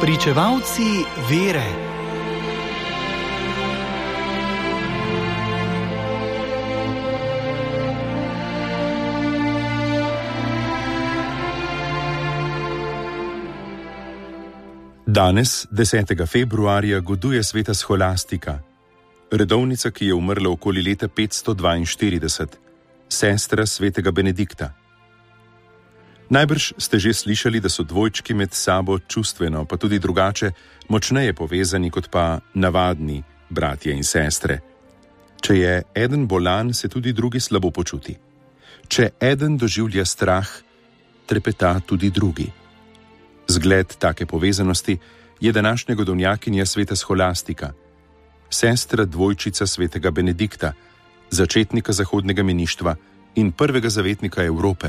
Spričevalci vere. Danes, 10. februarja, goduje sveta Scholastika, redovnica, ki je umrla okoli leta 542, sestra svetega Benedikta. Najbrž ste že slišali, da so dvojčki med sabo čustveno, pa tudi drugače, močneje povezani kot pa navadni bratje in sestre. Če je eden bolan, se tudi drugi slabo počuti. Če eden doživlja strah, trepeta tudi drugi. Zgled take povezanosti je današnja godovnjakinja sveta Scholastika, sestra dvojčica svetega Benedikta, začetnika zahodnega meništva in prvega zavetnika Evrope.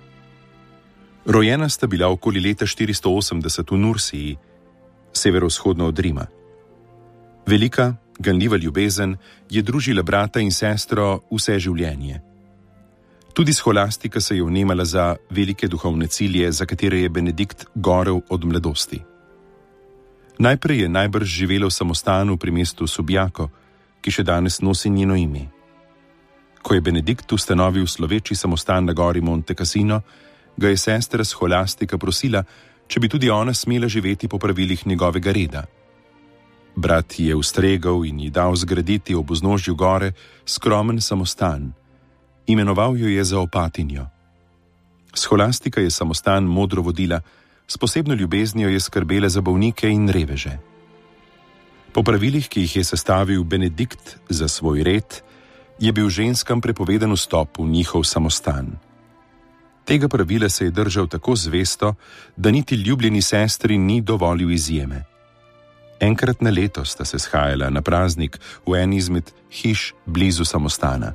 Rojena sta bila okoli leta 480 v Nursiji, severovzhodno od Rima. Velika, ganljiva ljubezen je družila brata in sestro vse življenje. Tudi Scholastika se je vnemala za velike duhovne cilje, za katere je Benedikt gorel od mladosti. Najprej je najbrž živela v samostanu pri mestu Subiaco, ki še danes nosi njeno ime. Ko je Benedikt ustanovil sloveči samostan na gori Monte Cassino, ga je sestra Scholastika prosila, če bi tudi ona smela živeti po pravilih njegovega reda. Brat je ustregal in ji dal zgraditi ob vznožju gore skromen samostan. Imenoval jo je za opatinjo. Scholastika je samostan modro vodila, s posebno ljubeznijo je skrbela za bolnike in reveže. Po pravilih, ki jih je sestavil Benedikt za svoj red, je bil ženskam prepovedan vstop v njihov samostan. Tega pravila se je držal tako zvesto, da niti ljubljeni sestri ni dovolil izjeme. Enkrat na leto sta se shajala na praznik v eni izmed hiš blizu samostana.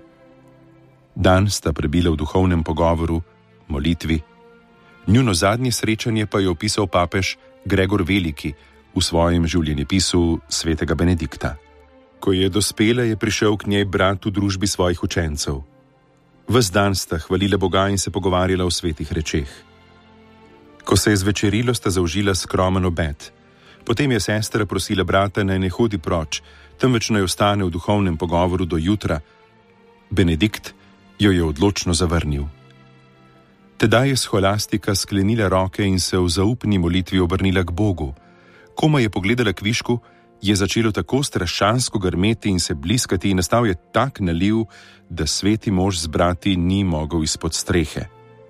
Dan sta prebila v duhovnem pogovoru, molitvi. Njuno zadnje srečanje pa je opisal papež Gregor Veliki v svojem življenjepisu svetega Benedikta. Ko je dospela, je prišel k njej brat v družbi svojih učencev. Ves dan sta hvalila Boga in se pogovarjala o svetih rečeh. Ko se je zvečerilo, sta zaužila skromen obed. Potem je sestra prosila brata, naj ne hodi proč, temveč naj ostane v duhovnem pogovoru do jutra. Benedikt jo je odločno zavrnil. Tedaj je Scholastika sklenila roke in se v zaupni molitvi obrnila k Bogu. Komaj je pogledala kvišku, je začelo tako strašansko grmeti in se bliskati in nastal je tak naliv, da sveti mož z brati ni mogel izpod strehe.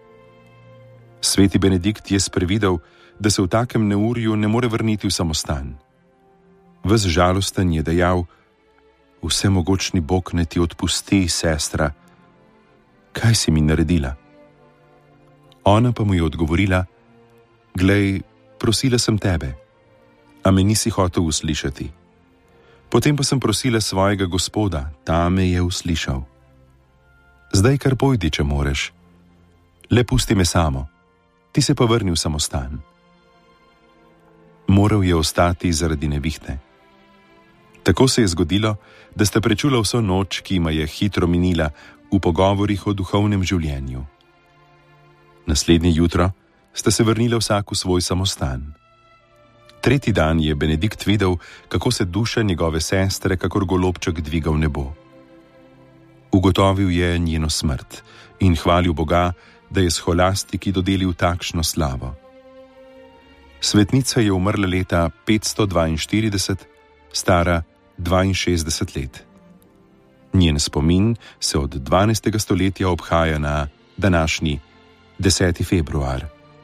Sveti Benedikt je sprevidel, da se v takem neurju ne more vrniti v samostan. Ves žalosten je dejal: "Vsemogočni Bog ne ti odpusti, sestra. Kaj si mi naredila?" Ona pa mu je odgovorila: "Glej, prosila sem tebe, a me nisi hotel uslišati. Potem pa sem prosila svojega Gospoda, ta me je uslišal. Zdaj kar pojdi, če moreš. Le pusti me samo, ti se pa vrni v samostan." Moral je ostati zaradi nevihte. Tako se je zgodilo, da sta prečula vso noč, ki jima je hitro minila, v pogovorih o duhovnem življenju. Naslednje jutro sta se vrnila vsak v svoj samostan. Tretji dan je Benedikt videl, kako se duša njegove sestre kakor golobček dviga v nebo. Ugotovil je njeno smrt in hvalil Boga, da je Scholastiki dodelil takšno slavo. Svetnica je umrla leta 542, stara 62 let. Njen spomin se od 12. stoletja obhaja na današnji 10. februar.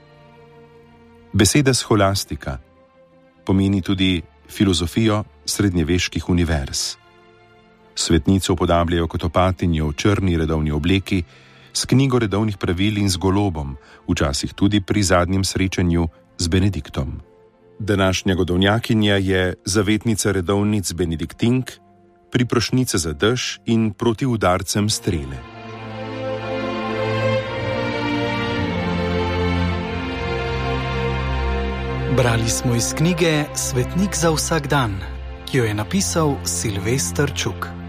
Beseda Scholastika pomeni tudi filozofijo srednjeveških univerz. Svetnico upodabljajo kot opatinjo v črni redovni obleki, s knjigo redovnih pravil in z golobom, včasih tudi pri zadnjem srečanju z Benediktom. Današnja godovnjakinja je zavetnica redovnic Benediktink, priprošnica za dež in proti udarcem strele. Brali smo iz knjige Svetnik za vsak dan, ki jo je napisal Silvester Čuk.